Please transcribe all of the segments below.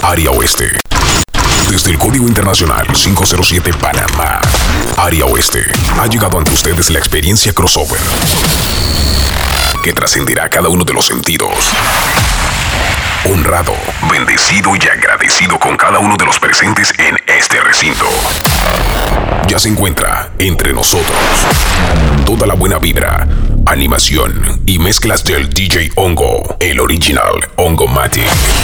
Área Oeste. Desde el Código Internacional 507 Panamá, Área Oeste, ha llegado ante ustedes la experiencia crossover que trascenderá cada uno de los sentidos. Honrado, bendecido y agradecido con cada uno de los presentes en este recinto. Ya se encuentra entre nosotros toda la buena vibra, animación y mezclas del DJ Hongo, el original Hongomatic.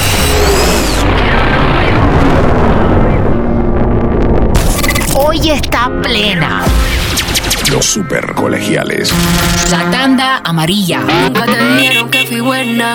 Hoy está plena. Los super colegiales. La tanda amarilla. Nunca te dijeron que fui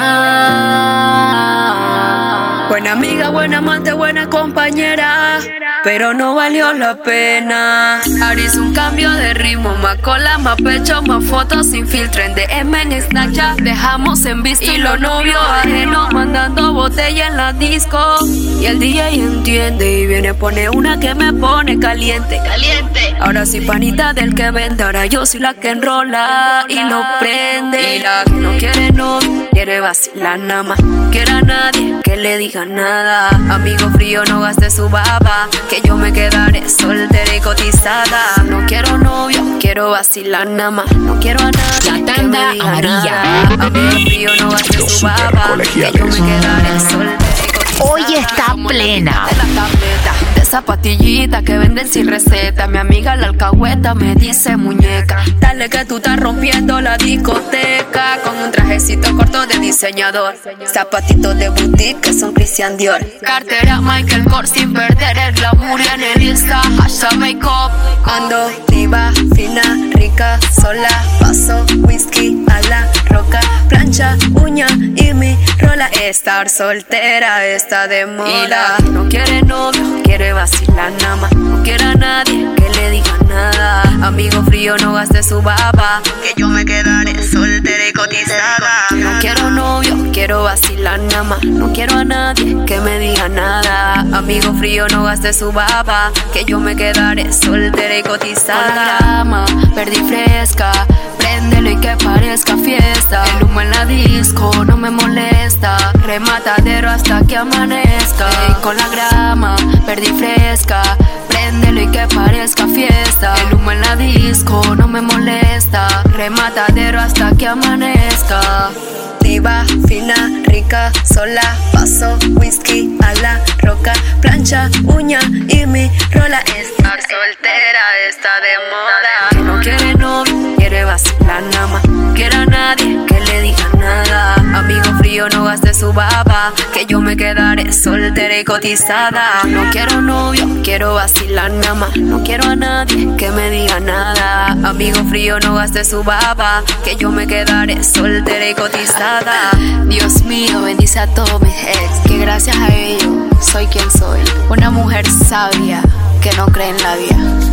buena. Buena amiga, buena amante, buena compañera, pero no valió la pena. Ahora hice un cambio de ritmo, más cola, más pecho, más fotos sin filtro. En DM, en Snapchat, dejamos en visto. Y los novios ajenos mandando botella en la disco. Y el DJ entiende y viene, pone una que me pone caliente. Caliente. Ahora soy panita del que vende, ahora yo soy la que enrola y lo prende. Y la que no quiere novio, quiere vacilar nada más. Quiere a nadie que le diga nada. Amigo frío, no gaste su baba, que yo me quedaré soltera y cotizada. No quiero novio, quiero vacilar nada más. No quiero a nadie La que me tanda diga amarilla. nada. Amigo frío, no gaste Los su baba, que yo me quedaré soltera y cotizada. Hoy está plena. De la tableta, de esa pastillita que venden sin receta. Mi amiga la alcahueta me dice muñeca, dale que tú estás rompiendo la discoteca. Con un trajecito corto de diseñador, zapatitos de boutique que son Christian Dior, cartera Michael Kors sin perder el glamour. Y en el Insta hashtag makeup. Ando diva, fina, rica, sola. Paso whisky a la roca, plancha, uña y mi rola. Estar soltera está de moda. Y la que no quiere novio, quiere vacilar nada más. No quiere a nadie que le diga nada. Amigo frío, no gaste su baba, que yo me quedaré soltera y cotizada. No quiero novio, quiero vacilar nada más. No quiero a nadie que me diga nada. Amigo frío, no gaste su baba, que yo me quedaré soltera y cotizada. Con la grama, verde y fresca, préndelo y que parezca fiesta. El humo en la disco no me molesta, rematadero hasta que amanezca. Ey, con la grama, verde y fresca, préndelo y que parezca fiesta. El humo en la disco no me molesta, rematadero hasta que amanezca. Diva, fina, rica, sola. Paso whisky a la roca, plancha, uña y mi rola. Estar soltera está de moda. Que no quiere novio, quiere vacilar nada más. No quiere a nadie que le diga nada. Amigo frío, no gaste su baba, que yo me quedaré soltera y cotizada. No quiero novio, quiero vacilar nada más. No quiero a nadie que me diga nada. Amigo frío, no gaste su baba, que yo me quedaré soltera y cotizada. Dios mío, bendice a todos mis ex, que gracias a ellos soy quien soy. Una mujer sabia que no cree en la vida.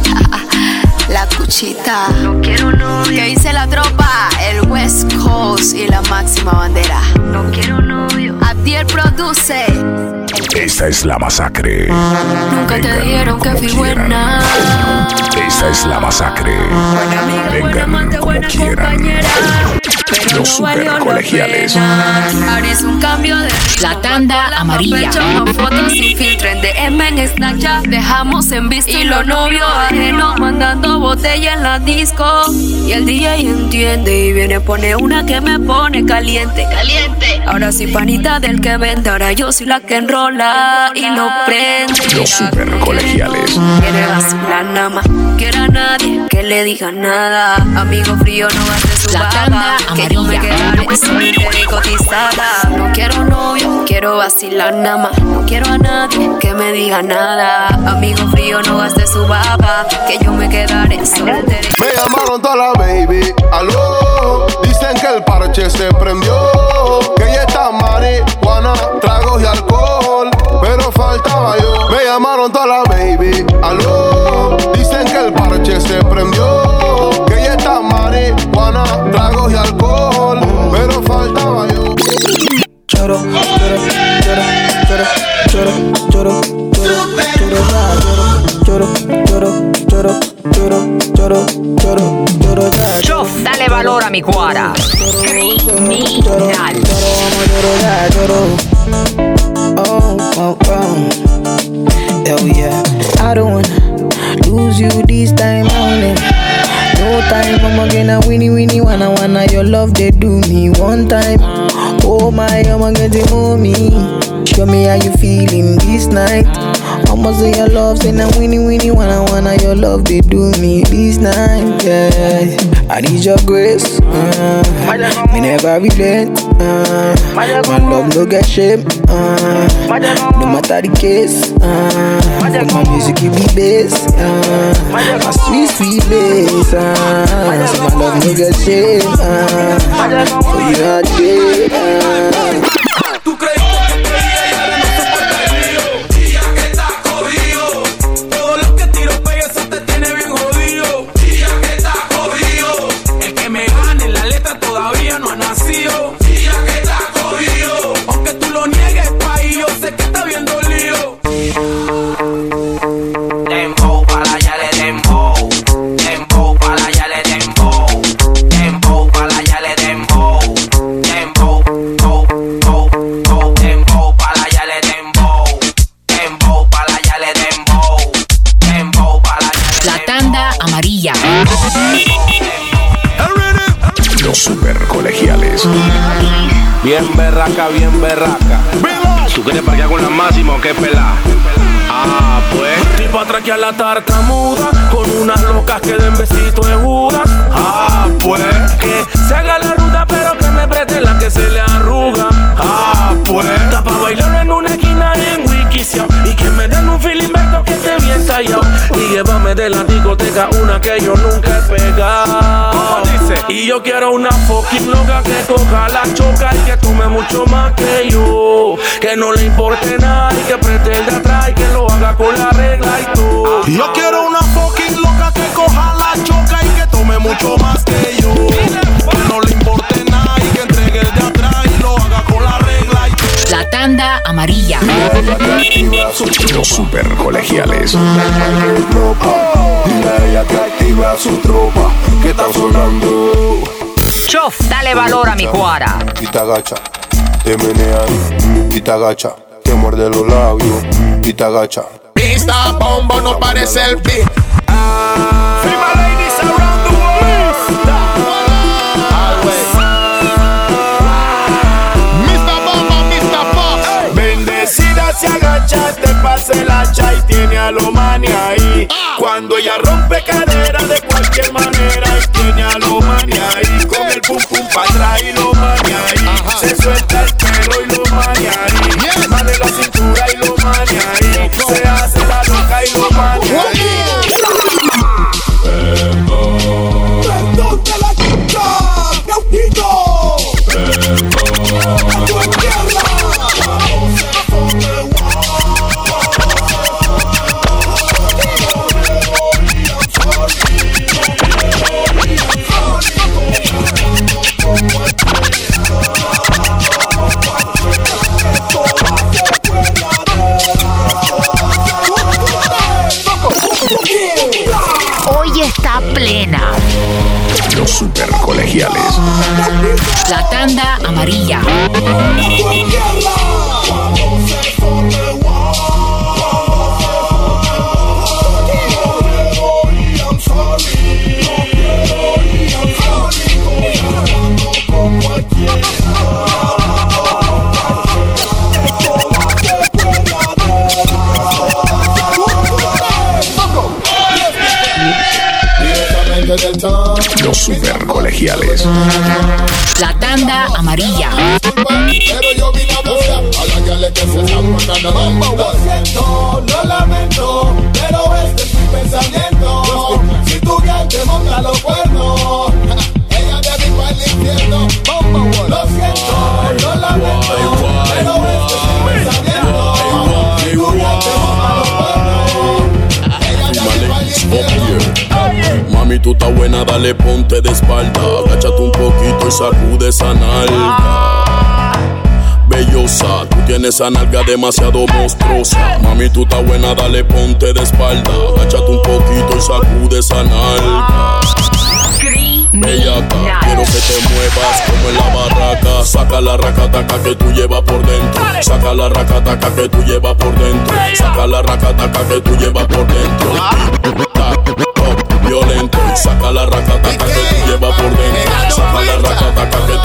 La cuchita. No quiero novio. Que dice la tropa, el West Coast y la máxima bandera. No quiero novio. Abdiel produce. Esta es la masacre. Nunca te dijeron que fui buena. Esta es la masacre. Buena amiga, buena amante, buena compañera, pero Los no valió la supercolegiales. pena. Ahora hice un cambio de ritmo, La tanda con amarilla. pecho, más fotos sin filtro. En DM, en Snapchat, dejamos en visto. Y los novios ajenos mandando botella en la disco. Y el DJ entiende y viene, pone una que me pone caliente. Caliente. Ahora soy panita del que vende, ahora yo soy la que enrola y lo prende. Los supercolegiales. Quiere vacilar nada más. Quiere a nadie que le diga nada. Amigo frío, no gaste su La baba, tanda que yo me amarilla. quedaré soltera y cotizada. No quiero novio, quiero vacilar nada más. No quiero a nadie que me diga nada. Amigo frío, no gaste su baba, que yo me quedaré soltera. Me llamaron toda la baby, aló. Dicen que el parche se prendió, que ella está marihuana, tragos y alcohol, pero faltaba yo. Me llamaron toda la baby, aló. Dicen que el parche se prendió, que ella está marihuana, tragos y alcohol, pero faltaba yo. Choro, choro, choro, choro, choro, choro, choro, choro, choro, choro, choro, choro, Chof, dale valor a mi cuara. Criminal. Oh, oh, oh. they do me one time. Oh my, I'ma get to know me. Show me how you feeling this night. I'ma say your love, say now winnie wanna your love they do me this night. Yeah, I need your grace. Me never relent. My love no get shame. No matter the case. My music give me bass. My sweet bass. So my love no get shame. So you are there. ¿Tú creíste que creía y ahora no soporta el lío? Día que estás cogido. Todo lo que tiro pega eso te tiene bien jodido. Día que estás cogido. El que me gane la letra todavía no ha nacido. Día que estás cogido. Aunque tú lo niegues, país, yo sé que está viendo lío. Dembow, para allá le dembow. Dembow, para allá le dembow. Dembow, para allá le dembow. Dembow, bow, bow, bow. Dembow, para allá le dembow. Dembow, para allá le dembow. Dembow, para allá le dembow. La tanda amarilla. Los super colegiales. Bien berraca, bien berraca. ¿Tú quieres parquear con la máxima o qué pelá? Ah, pues. Tipo atraquear la tartamuda con unas locas que den besitos de Judas. Ah, pues. Que se haga la ruta pero que me preste la que se le arruga. Ah, pues. Está pa' bailar en una esquina en Wikisio y que me den un feeling beto que esté bien tallado. Y llévame de la discoteca una que yo nunca he pegado. ¿Cómo dice? Y yo quiero una fucking loca que coja la choca y que tome mucho más que yo. Que no le importe nada y que preste el de atrás y que lo haga con la regla y todo. Yo quiero una fucking loca que coja la choca y que tome mucho más que yo. Que no le importe nada y que entregue el de atrás y lo haga con la regla y todo. La tanda amarilla. Los super colegiales. Dile a ella que activa su tropa, que está sonando. Chof, dale valor a mi cuara. Y te agacha, te menea y te agacha, te muerde los labios y te agacha. Pista bombo no parece el beat. Female ladies around the world. Mr. Bomba, Mr. Pop. Bendecida se agacha, te pasa el hacha y tiene a lo mani ahí. Cuando ella rompe cadera de cualquier manera y tiene a lo mani ahí. Con el pum pum pa' atrás y lo mani ahí. Se suelta el pelo y lo mani ahí. Mane la cintura y lo mani ahí. Se hace la loca y lo mani ahí. ¡Perdón de la chica! ¡Cautito! Hoy está plena. Los super colegiales. La tanda amarilla. Los super colegiales. La tanda amarilla. Pero yo vine a buscar a la que le que se están matando. Lo siento, lo lamento, pero este es mi pensamiento. Si tu ya te monta los cuernos, Ella de mi para el infierno. lo siento, lo lamento, pero este es mi pensamiento. Si tu ya te monta los cuernos, Ella de mi para el infierno. Mami, tú estás buena, dale ponte de espalda. Agáchate un poquito y sacude esa nalga. Bellosa, tú tienes esa nalga demasiado monstruosa. Mami, tú estás buena, dale ponte de espalda. Agáchate un poquito y sacude esa nalga. Bellaca, quiero que te muevas como en la barraca. Saca la racataca que tú llevas por dentro. Saca la racataca que tú llevas por dentro. Saca la racataca que tú llevas por dentro. Violento, saca la racataca que tú llevas por dentro. Saca la racataca que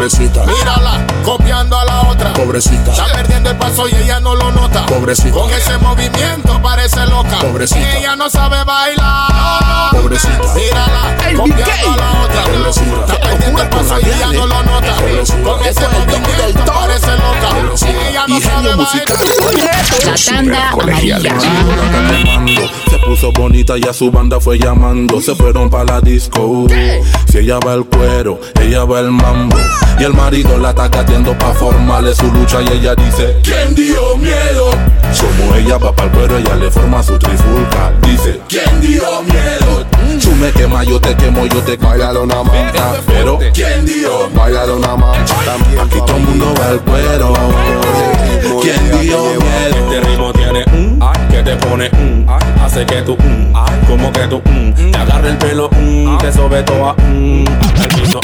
pobrecita. Mírala, copiando a la otra, pobrecita. Está perdiendo el paso y ella no lo nota, pobrecita. Con ese movimiento parece loca, pobrecita. Y ella no sabe bailar, pobrecita. Mírala, copiando a la otra, pobrecita. Está perdiendo el paso y ella no lo nota, Con ese movimiento parece loca, Y ella no sabe bailar. La tanda amarilla. Se puso bonita y a su banda fue llamando. Se fueron pa' la disco. Si ella va al cuero, ella va al mambo. Y el marido la está catiendo pa' formarle su lucha. Y ella dice: ¿quién dio miedo? Como ella va pa'l cuero, ella le forma su trifulca. Dice: ¿quién dio miedo? Tú me quemas, yo te quemo, yo te quemo. Báilalo nada más. Pero ¿quién dio? Báilalo nada más. Aquí todo el mundo va al cuero. ¿Quién dio miedo? Este ritmo tiene que te pone hace que tú como que tú te agarre el pelo te sobe toda el piso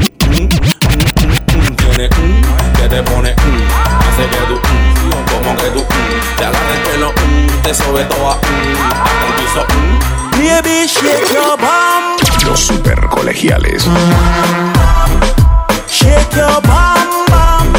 tiene que te pone hace que tú como que tú te agarre el pelo te sobe toda el piso baby shake your bum. Los super colegiales. Shake your bum bum.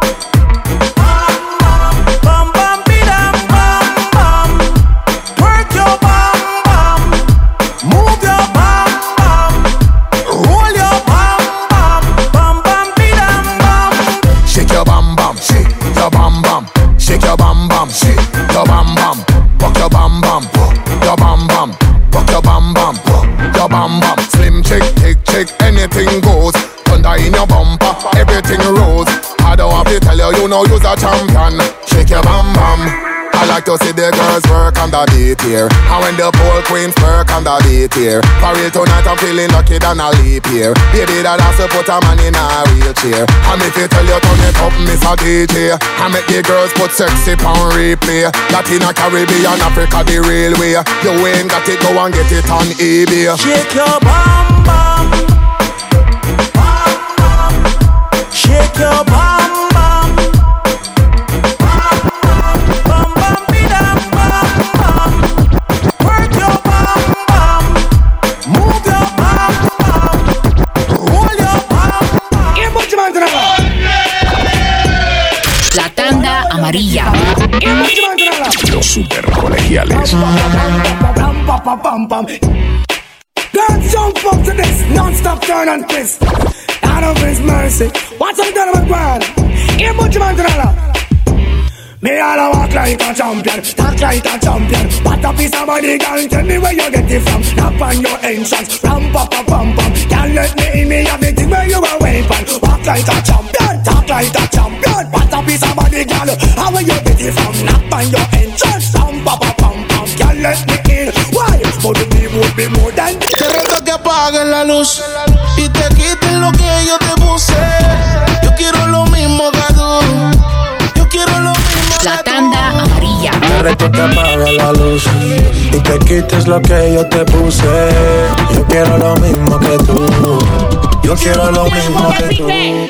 Shake your bam bam, shake your bam bam, rock your bam bam, your bam bam, rock your bam bam, your bam bam. Slim chick, thick chick, anything goes. Thunder in your bumper, everything rolls. I don't have to tell you, you know you're a champion. Shake your bam bam. I like to see the girls work on the beat here, and when the pole queens work on the beat here. For real tonight I'm feeling lucky than a leap year. Baby that has to put a man in a wheelchair. And if you tell you turn it up, Miss a DJ, I make the girls put sexy on replay. Latina, Caribbean, Africa the real way. You ain't got it, go and get it on eBay. Shake your bum bum, shake your bum bum. La tanda amarilla. Los super colegiales. Girls jump up to this, non-stop turn and twist. Out of His mercy, what's up done with God? Here much man to me all walk like a champion, talk like a champion. What a piece of body, girl, tell me where you get it from. Knock on your entrance, ram pa pa pam pam. Can't let me in me have it where you a weapon. Walk like a champion, talk like a champion. What a piece of body, girl, how where you get it from. Knock on your entrance, ram pa pa pam pam. Can't let me in, why? But the people would be more than. Te reto que apaguen la luz y te quiten lo que yo te puse. Yo quiero lo mismo que tú. Yo quiero lo mismo. La tanda amarilla. Te reto que apagues la luz y te quites lo que yo te puse. Yo quiero lo mismo que tú. Yo quiero lo mismo que tú. Hey,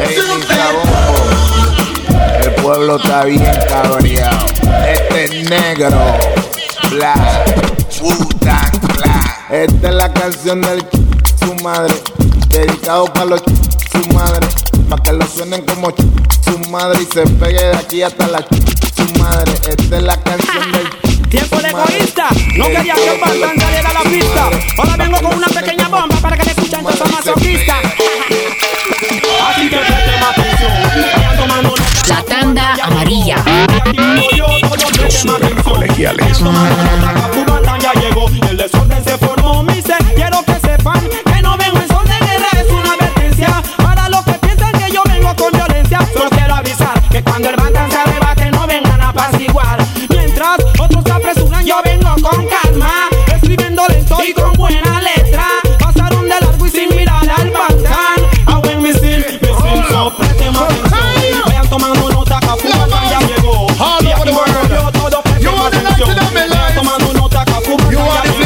el pueblo está bien cabreado. Este es negro, black, Wu-Tang Clan. Esta es la canción del su madre, dedicado para los su madre, para que lo suenen como su madre y se pegue de aquí hasta la su madre. Esta es la canción del tiempo de egoísta. No quería que Bantan saliera a la pista. Ahora vengo con una pequeña bomba para que te escuchen todos los masoquistas. Así que presten atención. Vayan tomando nota. La tanda amarilla. Los super colegiales. Bantan ya llegó. El desorden se formó. Me dice, quiero que sepan que no vengo en son de guerra. Es una advertencia para los que piensan que yo vengo con violencia. Solo quiero avisar que cuando el Bantan se arrebate no vengan a apaciguar. Mientras otros se apresuran, yo vengo con calma, escribiendo lento y con buena letra. Pasaron de largo y sin mirar al Bantan. A buen misil, so presten atención. Vayan tomando nota que Bantan ya llegó. Y aquí vengo yo, todo presten atención. Vayan tomando nota que Bantan ya llegó.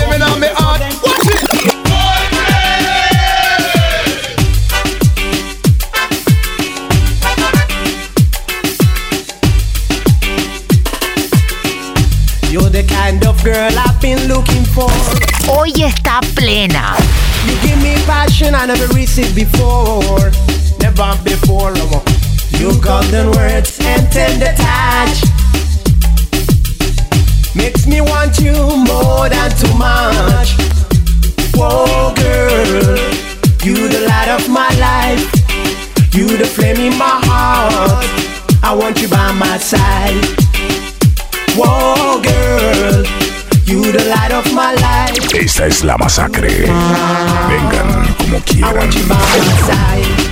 You're the kind of girl I've been looking for. Hoy está plena. You give me passion I never received before. never before. You golden words and tender touch makes me want you more than too much. Whoa, girl, you the light of my life, you the flame in my heart. I want you by my side. Whoa, girl, you the light of my life. Esta es la masacre. Vengan como quieran. I want you by my side.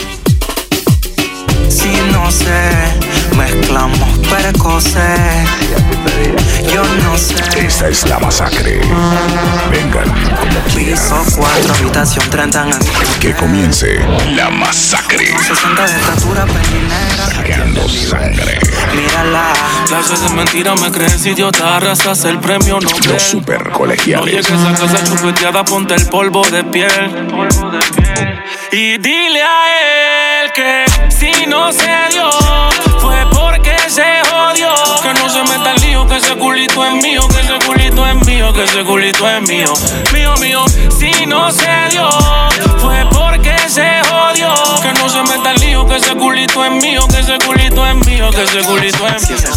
Si no sé, mezclamos precoces. Yo no sé. Esta es la masacre. Vengan como quieran. Piso 4, habitación 30 en el... Que comience la masacre. 60 de estatura, pelinera. Sacando sangre. Mírala. Clases de mentira me crees idiota, arrasas el premio Nobel. Los super colegiales. No llegues a casa chupeteada, ponte el polvo de piel. Y dile a él que si no se dio, fue porque se jodió. Que no se meta el lío, que ese culito es mío, que ese culito es mío, que ese culito es mío. Mío, mío, si no se dio, fue porque se jodió. Que no se meta el lío, que ese culito es mío, que ese culito es mío, que ese culito es mío.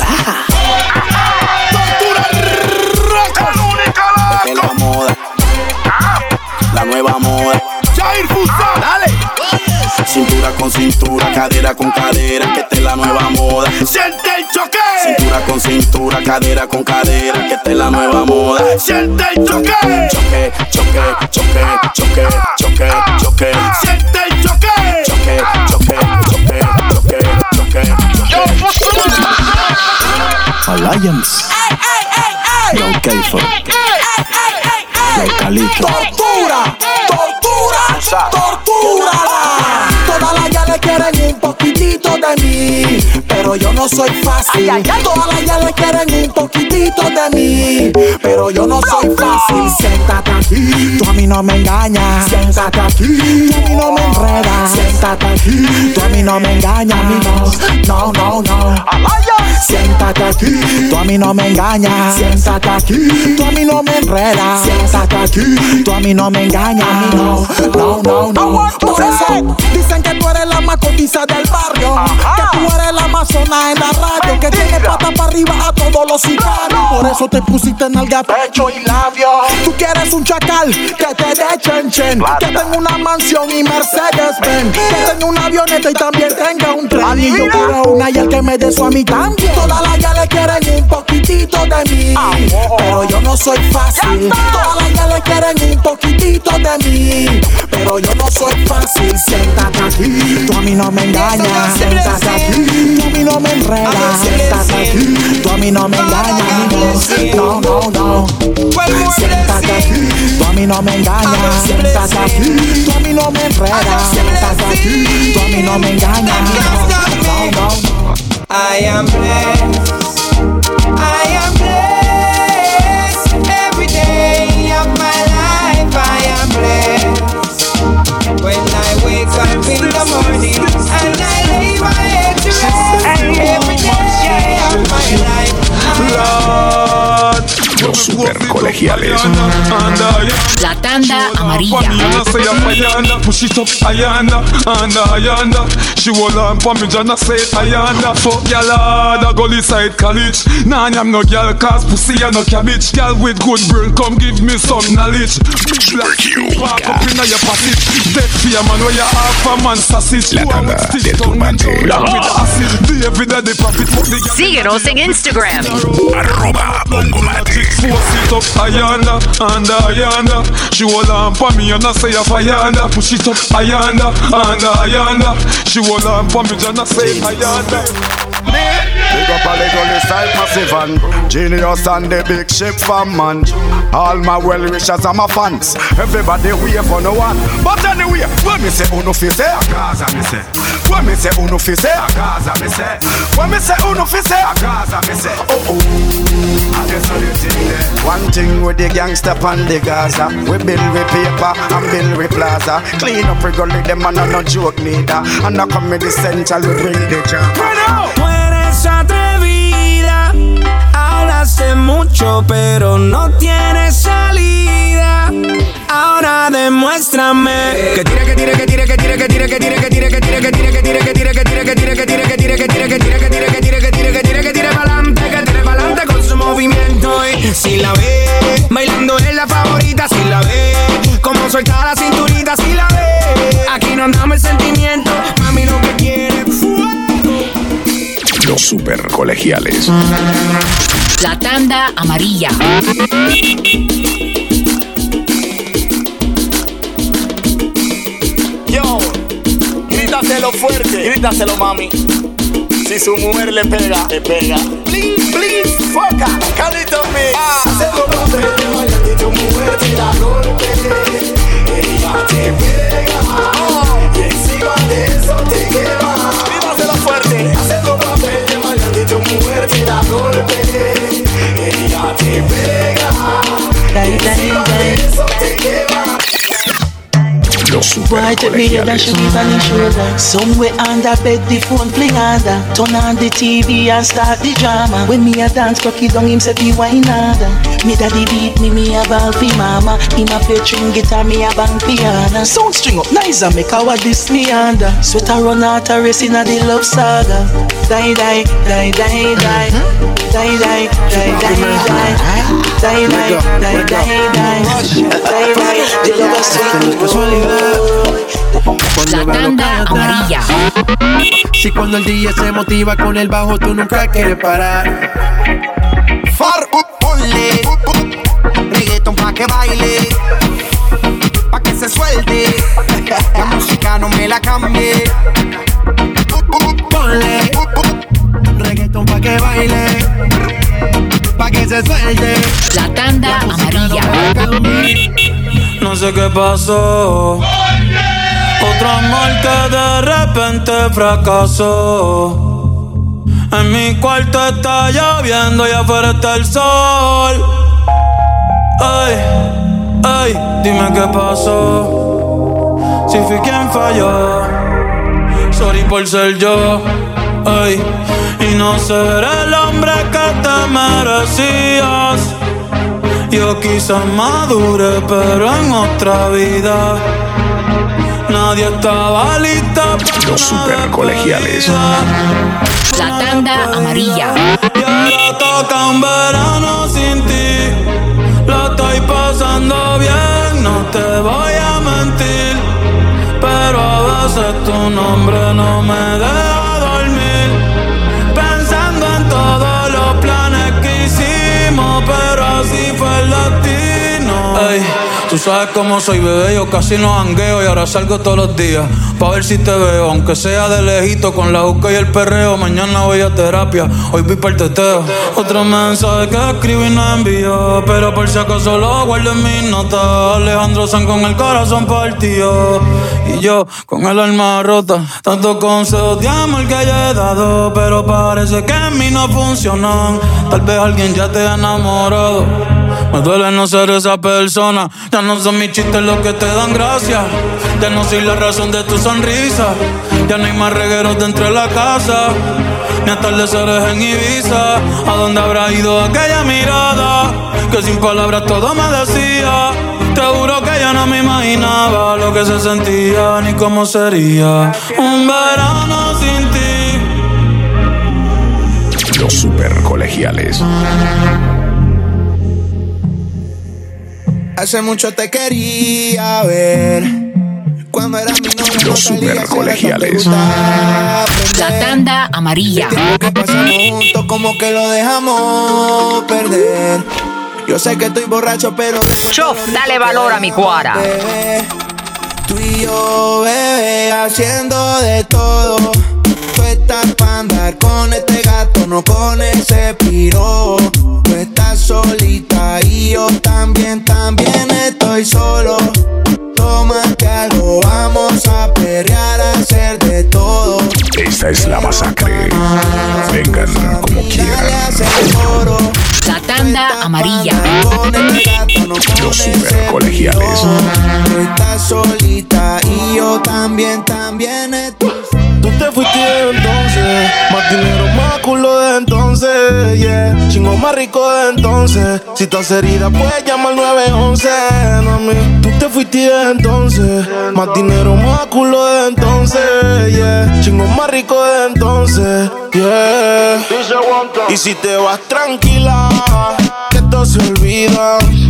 Tortura roca, única es la moda, la nueva moda. Jair Fusa, dale. Cintura con cintura, cadera con cadera, que esta es la nueva moda. Siente el choque. Cintura con cintura, cadera con cadera, que esta es la nueva moda. Siente el choque. Choque, choque, choque, choque, choque, choque. Siente el choque. Choque, choque, choque, choque, choque, choque. Alliance. Yo Keifer. Yo Calito. Tortura, tortura, tortura. Todas las ya le quieren un poquitito de mí, pero yo no soy fácil. Todas las ya le quieren un poquitito de mí, pero yo no soy fácil. Siéntate aquí, tú a mí no me engañas. Siéntate aquí, tú a mí no me enredas. Siéntate aquí, tú a mí no me engañas. No, no, no. Siéntate aquí, tú a mí no me engañas. Siéntate aquí, tú a mí no me enredas. Siéntate aquí, tú a mí no me engañas. No, no, no, no. Por eso dicen que tú eres la más cotiza del barrio, que tú eres la más zona en la radio, que tiene pata para arriba a todos los sicarios. Por eso te pusiste nalga, pecho y labio. Tú quieres un chacal que te dé chen chen, que tenga una mansión y Mercedes-Benz, que tenga una avioneta y también tenga un tren. Y yo quiero una y el que me dé eso a mí también. Todas las ya le quieren un poquitito de mí, pero yo no soy fácil. Todas las ya le quieren un poquitito de mí, pero yo no soy fácil. Siéntate aquí, tú a mí no me engañas. Siéntate aquí, tú a mí no me enredas. Siéntate aquí, tú a mí no me engañas. No, no, no. Siéntate aquí, tú a mí no me engañas. Siéntate aquí, tú a mí no me enredas. Siéntate aquí, tú a mí no me engañas. No, no, no. I am blessed. I am blessed. Every day of my life I am blessed. When I wake up in the morning and I lay my head to rest, every day of my life Los super colegiales. La tanda amarilla. Push it up, Ayanda, Ayanda. She hold on for me, Jana say Ayanda. Fuck y'all hard, I go inside college. Nah, I'm no girl, cause pussy and no cabbage. Girl with good brain, come give me some knowledge. Walk up in your passage. Dead for your man, where you half a man sausage. La tanda del turbante. Síguenos en Instagram. @Bongomate. Force it up, Ayanda, Ayanda. She hold on for me and I say Ayanda. Push it up, Ayanda, Ayanda. She hold on for me and I say Ayanda. Big up a little side massive and genius and the big ship fan man. All my well wishers and my fans. Everybody wait for no one. But anyway, when me say uno fi say a Gaza me say. When me say uno fi say a Gaza me say. When me say uno fi say a Gaza me say. Oh oh. I just know the thing there. One thing with the gangster pan the Gaza. We build with paper and build with plaza. Clean up we gully them and no joke neither. And now come with the central we bring the jam. Atrevida, hablaste mucho pero no tienes salida. Ahora demuéstrame que tire, que tire, que tire, que tire, que tire, que tire, que tire, que tire. suelta la cinturita si la ve. Aquí no andamos el sentimiento, mami lo que quiere fuego. Los super colegiales. La tanda amarilla. Yo, grítaselo fuerte, grítaselo mami. Si su mujer le pega, le pega. Bling, bling, foca, Carlito Mix. Hacemos papel de bailante, tu mujer te da golpe. Ella te pega, y encima de eso te quema. Grítaselo fuerte. Hacemos papel de bailante, tu mujer te da golpe. Ella te pega, y encima de eso te quema. Los super colegiales. Somewhere under bed, the phone fling under. Turn on the TV and start the drama. When me a dance, cocky down him say be wine under. Me daddy beat me a ball fi mama. Him a play string guitar, me a bang piano. Sound string up nice and make our this me under. Sweat a run out a race in a the love saga. Die die die die die. Die die die die die. Die die die die die. Die die. The love is sweet. La tanda amarilla. Si cuando el DJ se motiva con el bajo, tú nunca quieres parar. Ponle reggaeton pa' que baile, pa' que se suelte. La música no me la cambie. Ponle reggaeton pa' que baile, pa' que se suelte. La tanda amarilla. No sé qué pasó. Otro amor que de repente fracasó. En mi cuarto está lloviendo y afuera está el sol. Ay, ay, dime qué pasó. Si fui quien falló. Sorry por ser yo. Ay, y no ser el hombre que te merecías. Yo quizás madure, pero en otra vida. Nadie estaba lista para los super colegiales. La tanda amarilla. Y ahora toca un verano sin ti. Lo estoy pasando bien, no te voy a mentir. Pero a veces tu nombre no me deja dormir. Pensando en todos los planes que hicimos, pero así fue el destino. Ey, tú sabes cómo soy, bebé, yo casi no jangueo y ahora salgo todos los días pa' ver si te veo, aunque sea de lejito con la juca y el perreo. Mañana voy a terapia, hoy vi para el teteo. Otro mensaje que escribí y no envió, pero por si acaso lo guardo en mis notas. Alejandro San con el corazón partido y yo con el alma rota. Tantos consejos de amor que ya he dado, pero parece que en mí no funcionan. Tal vez alguien ya te ha enamorado. Me duele no ser esa persona. Ya no son mis chistes los que te dan gracia. Ya no soy la razón de tu sonrisa. Ya no hay más regueros dentro de la casa, ni atardeceres en Ibiza. ¿A dónde habrá ido aquella mirada que sin palabras todo me decía? Te juro que ya no me imaginaba lo que se sentía ni cómo sería un verano sin ti. Los super colegiales. Hace mucho te quería ver. Cuando era mi novia. Los super colegiales. La tanda amarilla. El tiempo que pasamos juntos como que lo dejamos perder. Yo sé que estoy borracho, pero Chof, dale valor a mi cuara. Tú y yo, bebé, haciendo de todo. Tú estás para andar con este gato, no con ese piro. Tú estás solita y yo también estoy solo. Tómate algo, vamos a perrear, a hacer de todo. Esta es la masacre. Vengan como quieran. La tanda amarilla. Los super colegiales. Tú estás solita y yo también estoy. Tú te fuiste entonces, más dinero, más culo de entonces, yeah. Chingo más rico de entonces. Si estás herida, puedes llamar 911, mami. Tú te fuiste entonces, más dinero, más culo de entonces, yeah. Chingo más rico de entonces, yeah. Y si te vas tranquila, que todo se olvida.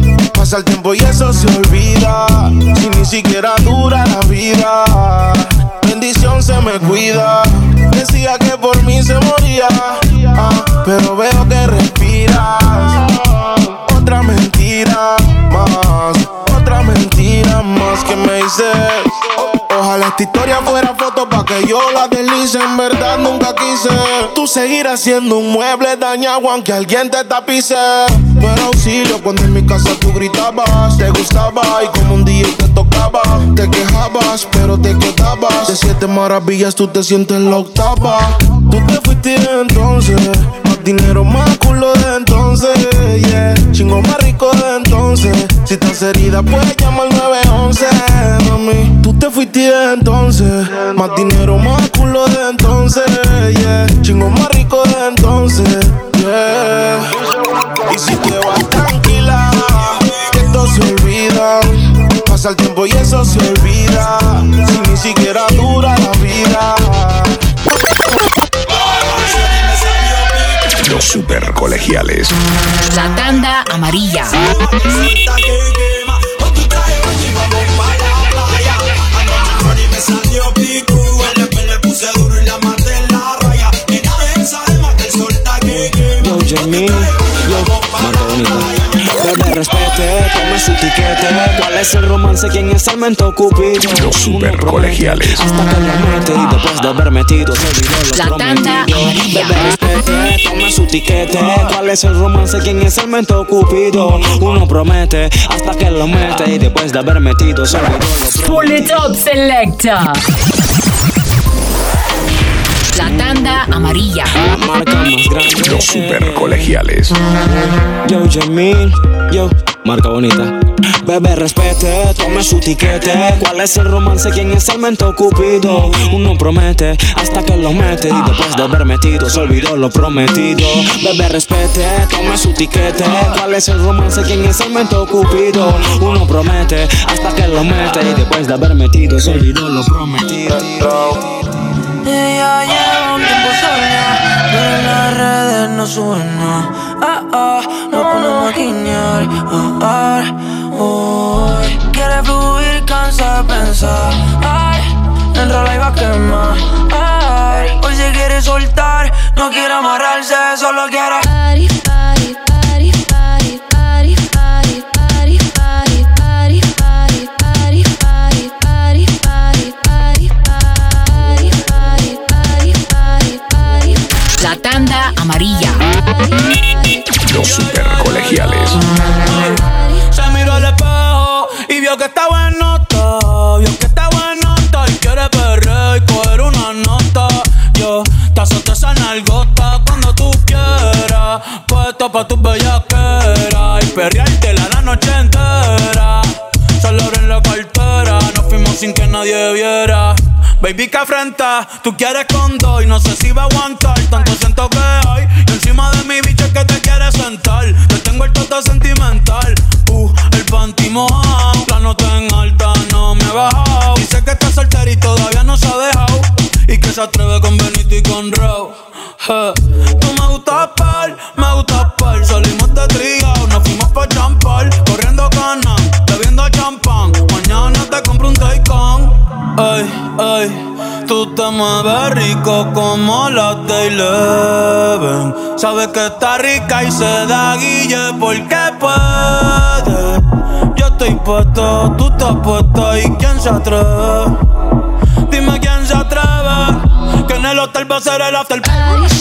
Pasa el tiempo y eso se olvida. Si ni siquiera dura la vida. Bendición se me cuida. Decía que por mí se moría. Pero veo que respiras. Otra mentira más. Otra mentira más que me dices. Ojalá esta historia fuera foto pa' que yo la deslice. En verdad nunca quise. Tú seguirás siendo un mueble dañado aunque alguien te tapice. No era auxilio cuando en mi casa tú gritabas. Te gustaba y como un día te tocaba. Te quejabas pero te quedabas. De 7 maravillas tú te sientes la octava. Tú te fuiste entonces. Más dinero, más culo de entonces, yeah. Chingo más rico de entonces. Si estás herida puedes llamar al 911, mami. Tú te fuiste entonces. Más dinero, más culo de entonces, yeah. Chingo más rico de entonces, yeah. Y si te vas tranquila, que esto se olvida. Pasa el tiempo y eso se olvida. Si ni siquiera dura la vida. Los super colegiales. La tanda amarilla. Yo, Jamie, yo, Marta Bonita. Bebé, respete, tome su tiquete. ¿Cuál es el romance? ¿Quién es el mento cupido? Los super colegiales. Hasta que lo mete y después de haber metido se olvidó lo La tanda amarilla. Bebé, respete, tome su tiquete. ¿Cuál es el romance? ¿Quién es el mento cupido? Uno promete hasta que lo mete y después de haber metido se olvidó lo Pull it up, selecta. La tanda amarilla. La marca más grande. Los super colegiales. Yo, Jamil, yo, marca bonita. Bebé, respete, tome su tiquete. ¿Cuál es el romance? ¿Quién es el mento cupido? Uno promete hasta que lo mete y después de haber metido se olvidó lo prometido. Bebé, respete, tome su tiquete. ¿Cuál es el romance? ¿Quién es el mento cupido? Uno promete hasta que lo mete y después de haber metido se olvidó lo prometido. Ella lleva un tiempo sola, pero en las redes no suena. Nos ponemos a guiñar. Quiere fluir, cansa de pensar. Enrola y va a quemar. Hoy se quiere soltar, no quiere amarrarse, solo quiere. La tanda amarilla. Los super colegiales. Se miró al espejo y vio que está buenota. Vio que está buenota y quiere perrear y coger una nota. Yo te azoto esa nalgota cuando tú quieras. Puesto pa' tus bellaqueras y perreártela la noche entera. Solo abren la cartera, nos fuimos sin que nadie viera. Baby, que afrenta, tú quieres con dos y no sé si va a aguantar. Tanto siento que hay y encima de mi bicho es que te quieres sentar. Te tengo el toto sentimental, el panty mojado. La nota en alta no me he bajado. Dice que está soltera y todavía no se ha dejado y que se atreve con Benito y con Raúl. Tú me gustas par, salimos de trío, nos fuimos pa' champar, corriendo cana, bebiendo champán. Mañana te compro un Taycan. Ay, tú te mueves rico como la Eleven. Sabes que está rica y se da guille porque puede. Yo estoy puesto, tú estás puesta y quién se atreve. Dime quién se atreve, que en el hotel va a ser el after party.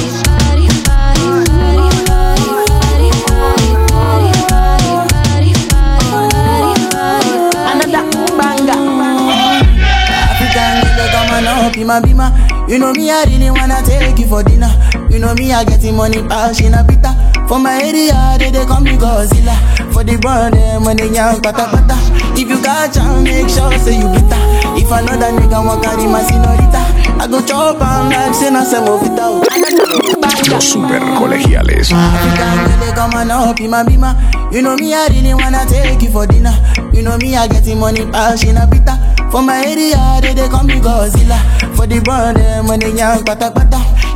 Bima bima, you know me, I really wanna take you for dinner. You know me, I getting money, bash in a pita. For my area, they call me Godzilla. For the brand, when they young pata pata. If you got chance, make sure say you bitter. If another nigga want carry my señorita, I go chop and like say na se movita. Los super colegiales. Bima bima, you know me, I really wanna take you for dinner. You know me, I getting money, bash in a pita. For my area, they call me Godzilla. For the brand, when they young pata pata.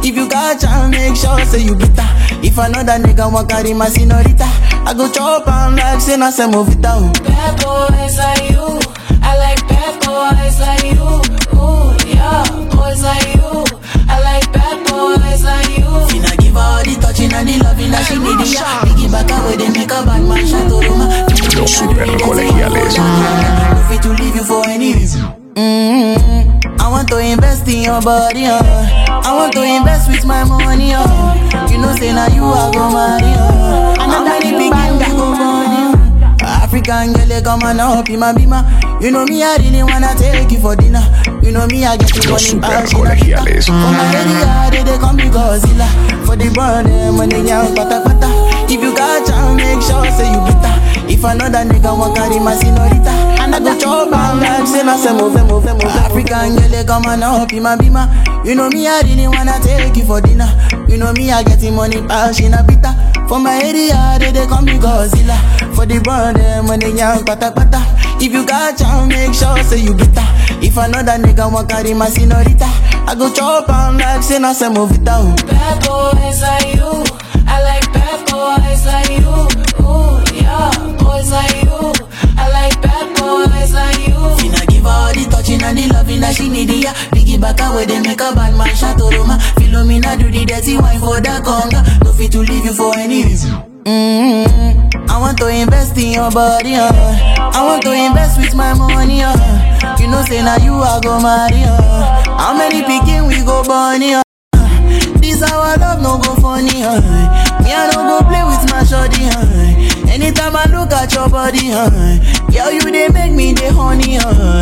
If you got chance, make sure say you better. If another nigga want carry my senorita, I go chop and like say na se movita. Bad boys like you, I like bad boys like you. Ooh yeah, boys like you, I like bad boys like you. Finna give her all the touching and the loving that she need. Yeah, piggy back away they make a bad man shot to Roma. Los super colegiales. No fit to leave you for any reason. I want to invest in your body, I want to invest with my money, You know say now you are go marry, I'm many big we go money, African girl they come and up in my bima. You know me I really wanna take you for dinner. You know me I get you money back. For my area they come to Godzilla. For the burn them when they young pata pata. If you got chance make sure say you better. If another nigga want carry my senorita, and I go chop and like say na se move. African girl they come and up in my bima. You know me I really wanna take you for dinner. You know me I get money back in a bita. For my area they come to Godzilla. For the burn them when they young pata pata. If you got chance make sure say you better. If another nigga want carry my senorita, I go chop and like say na se move it down. Bad boys like you, I like bad boys like you. Ooh yeah, boys like you, I like bad boys like you. Finna give her all the touching and the loving that she need. Yeah, piggy back away they make a bad man shot to Roma. Philomena do the dirty wine for the conga. No fit to leave you for any reason. I want to invest in your body, I want to invest with my money, You know say now you are go marry, How many picking we go bunny, This our love no go funny, Me I no go play with my shorty, Anytime I look at your body, Girl you they make me the honey,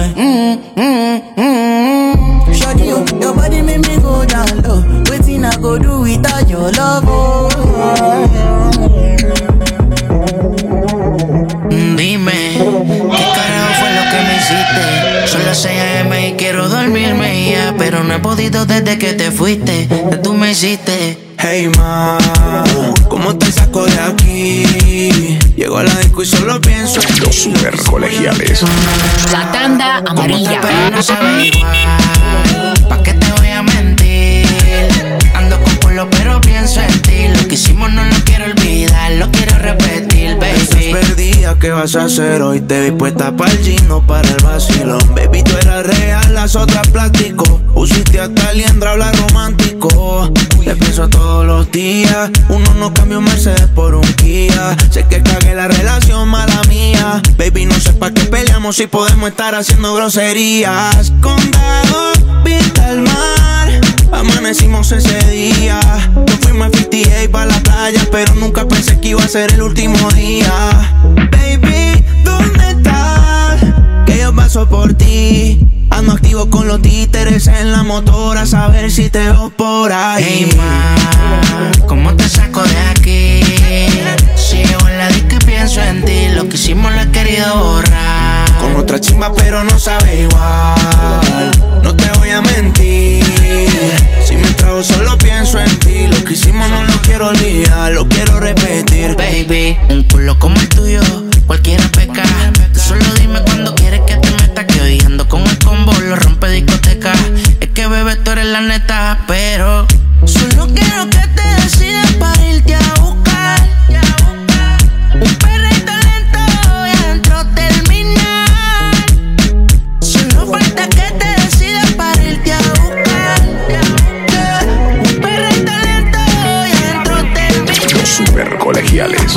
Shorty, your body make me go down low. Waiting I go do without your love, Dime, ¿qué carajo fue lo que me hiciste? Son las 6 AM y quiero dormirme ya, pero no he podido desde que te fuiste, que tú me hiciste. Hey ma, ¿cómo te saco de aquí? Llego a la disco y solo pienso en los super colegiales. La tanda amarilla. Pero no sabe igual, ¿pa' qué te voy a mentir? Ando con culo pero pienso en ti. Lo que hicimos no lo quiero olvidar, lo quiero repetir, baby. Estás perdida, ¿qué vas a hacer hoy? Te vi puesta para el gym, no para el vacilón. Baby, tú eras real, las otras plástico. Pusiste hasta liendra, habla romántico. Te pienso todos los días. Uno no cambia un Mercedes por un Kia. Sé que cagué la relación, mala mía. Baby, no sé pa' qué peleamos si podemos estar haciendo groserías. Condado, vista al mar, amanecimos ese día. Nos fuimos a 58 pa' la playa, pero nunca pensé que iba a ser el último día. Baby, ¿dónde estás? Que yo paso por ti. Ando activo con los títeres en la motora, a saber si te veo por ahí. Hey ma, ¿cómo te saco de aquí? Sigo en la disco y pienso en ti. Lo que hicimos lo he querido borrar. Con otra chimba pero no sabe igual. No te voy a mentir, si me trago solo pienso en ti. Lo que hicimos no lo quiero olvidar, lo quiero repetir. Baby, un culo como el tuyo, cualquiera peca. Tú solo dime cuando quieres que te meta, que hoy ando con el combo, lo rompe discoteca. Es que bebé tú eres la neta, pero solo quiero que te decidas para irte a buscar. Un perrito lento y adentro terminar. Solo falta que te decidas para irte a buscar. Un perrito lento y adentro terminar. Los super colegiales.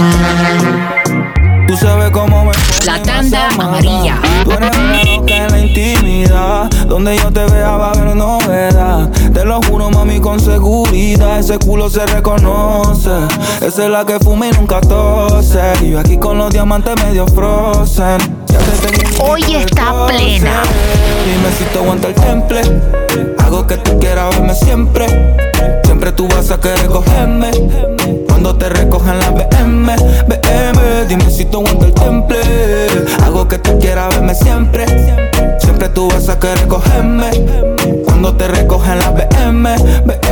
Tú sabes cómo me La tanda amarilla. Tú eres una loca en la intimidad. Donde yo te vea va a haber novedad. Te lo juro, mami, con seguridad. Ese culo se reconoce. Esa es la que fuma y nunca tose. Y yo aquí con los diamantes medio frozen. Ya te tengo. Hoy está plena. Dime si te aguanta el temple. Hago que tú quieras verme siempre. Siempre tú vas a querer cogerme. Cuando te recojan la BM. Dime si te aguanta el temple. Hago que tú quieras verme siempre. Siempre tú vas a querer cogerme. Cuando te recojan la BM. A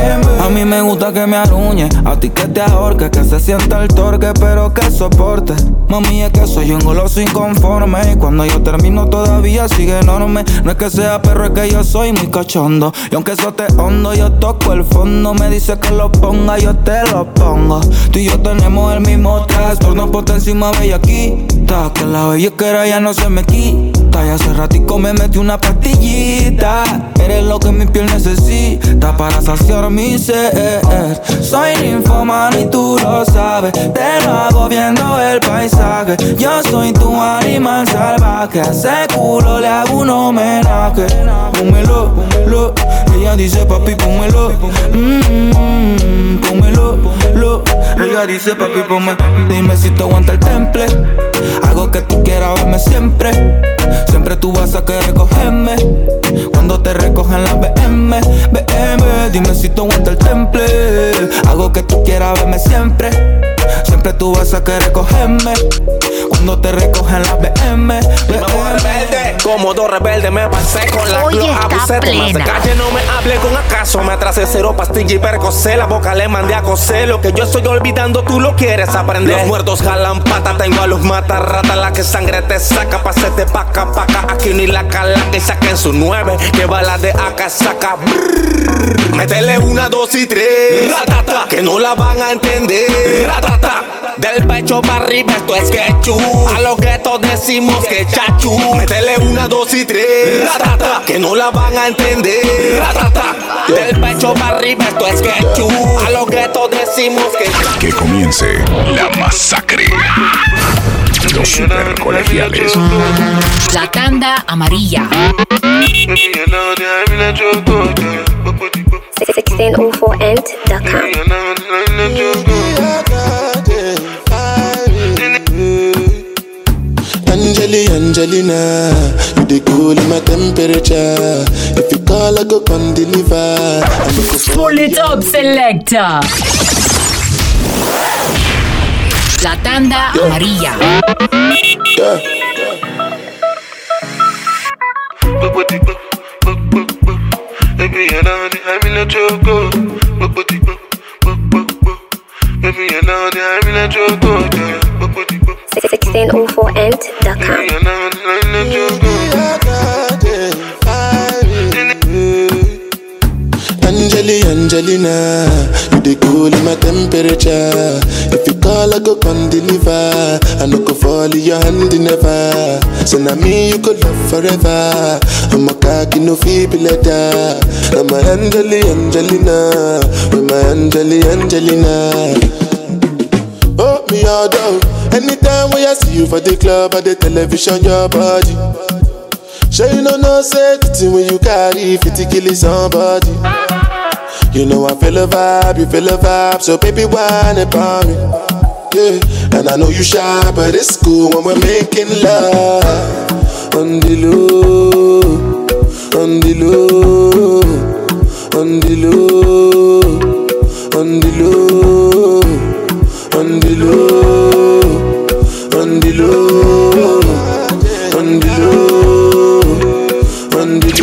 mí me gusta que me arruñe, a ti que te ahorque, que se sienta el torque, pero que soporte. Mami, es que soy un goloso inconforme, y cuando yo termino todavía sigue enorme. No es que sea perro, es que yo soy muy cachondo, y aunque eso te hondo, yo toco el fondo. Me dice que lo ponga, yo te lo pongo. Tú y yo tenemos el mismo trastorno, ponte encima bellaquita, que la bellaquera ya no se me quita. Y hace ratico me metí una pastillita. Eres lo que mi piel necesita para saciar mi ser. Soy ninfomano y tú lo sabes, te lo hago viendo el paisaje. Yo soy tu animal salvaje, a ese culo le hago un homenaje. Pónmelo, lo. Ella dice papi, pónmelo. Pónmelo, lo. Ella dice papi, pónmelo. Dime si te aguanta el temple. Hago que tú quieras verme siempre. Siempre tú vas a querer cogerme cuando te recogen las BM. Dime si te aguanta el temple. Hago que tú quieras verme siempre. Siempre tú vas a querer cogerme cuando te recogen las BM. Rebelde, como dos rebeldes me pasé con la glow. Abusé de más de calle, no me hable con acaso. Me atrasé cero pastilla y percocé. La boca le mandé a coser. Lo que yo estoy olvidando tú lo quieres aprender. Los muertos jalan pata, tengo a los matarratas. La que sangre te saca, pasete paca. Aquí ni la cala que saquen su 9. Que bala de acá saca. Métele 1, 2 y 3. Ratata, que no la van a entender. Ratata, del pecho para arriba esto es quechú. A los guetos decimos que chachu. Métele 1, 2 y 3. Ratata, que no la van a entender. Ratata, del pecho para arriba esto es quechú. A los guetos decimos que chachu. Que comience la masacre. Los super colegiales. La tanda amarilla. 1604ent.com. Angelina, you the cool in my temperature. If you call, I go come deliver. Pull it up, selector. La tanda amarilla. Angelina, you the cool in my temperature. If you call, I go come deliver. I no go fall in your hand never. So now me you could love forever. I'm a cocky no feeble letter. I'm a Angelina, with my Angelina. Oh me all down. Anytime when I see you for the club or the television, your body. Sure you know say the thing when you carry 50 kill somebody. You know I feel a vibe, you feel a vibe, so baby whine about me. Yeah, and I know you shy, but it's cool when we're making love. On the low, on the low, on the low, on the low, on the low, on the low, on the low, on the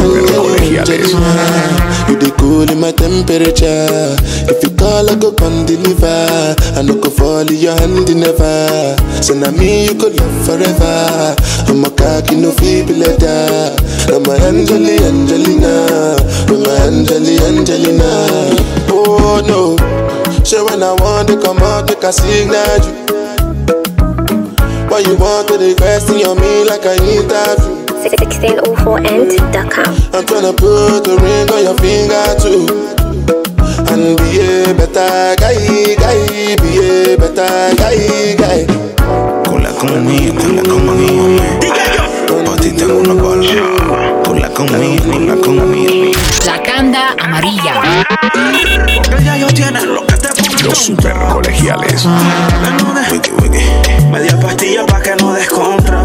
low. You the cool in my temperature. If you call, I go come deliver. I no go fall in your hand never. So now me you could love forever. I'm a cocky no feeble letter. I'm a Angelina, I'm a Angelina. Oh no, so when I want to come out, make a signal you. Why you want to request on me like I need that? 1604ent.com. I'm tryna put a ring on your finger too. And be a better guy, be a better guy. Cola conmigo, por ti tengo una bola. Cola conmigo. La tanda amarilla. Porque ya yo tienen lo que te pongo. Los super colegiales. Wiki. Media pastilla pa' que no descontra,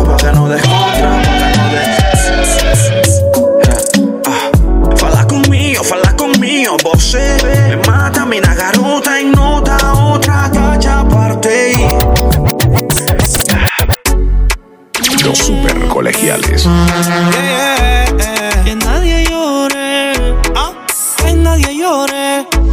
Fala conmigo, vos me mata mi garota en nota otra cacha aparte. Los super colegiales. Que nadie llore, que nadie llore.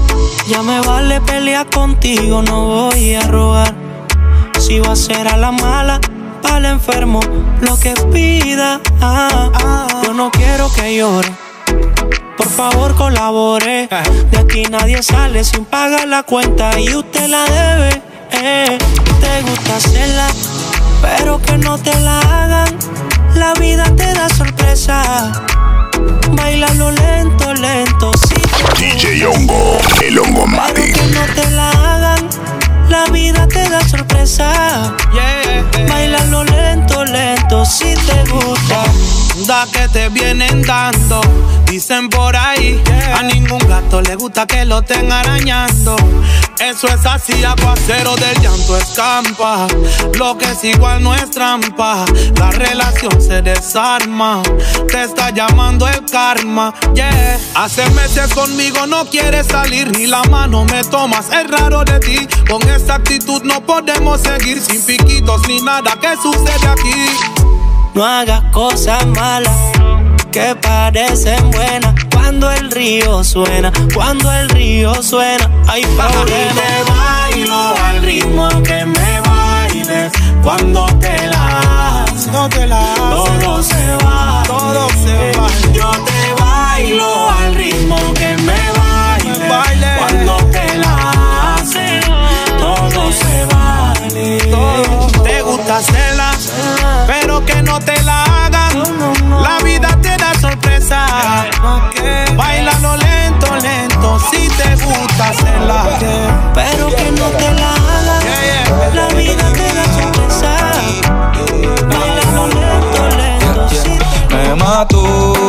Ya me vale pelear contigo, no voy a rogar. Si va a ser a la mala, pa'l enfermo, lo que pida. Yo no quiero que llore, por favor colabore. De aquí nadie sale sin pagar la cuenta y usted la debe. Te gusta hacerla, pero que no te la hagan. La vida te da sorpresa. Bailalo lento, lento, sí. DJ Hongo, el Hongo Matic. Que no te la hagan. La vida te da sorpresa. Bailalo lento, lento, si te gusta. Da que te vienen dando. Dicen por ahí, a ningún gato le gusta que lo estén arañando. Eso es así, aguacero del llanto escampa. Lo que es igual no es trampa. La relación se desarma. Te está llamando el karma, Hace meses conmigo no quieres salir, ni la mano me tomas, es raro de ti. Con esta actitud no podemos seguir, sin piquitos ni nada que sucede aquí. No hagas cosas malas que parecen buenas. Cuando el río suena, cuando el río suena, hay problemas. Te bailo al ritmo que me bailes. Cuando te la haces, todo se va, todo se va. Yo te bailo al ritmo que me bailes. Cuando te la haces, todo se vale. Te gusta hacerla, pero que no te la hagan. La vida te da sorpresa. Bailalo lento, lento, si te gusta hacerla. Pero que no te la hagan. La vida te da sorpresa. Bailalo lento, lento, si te me mató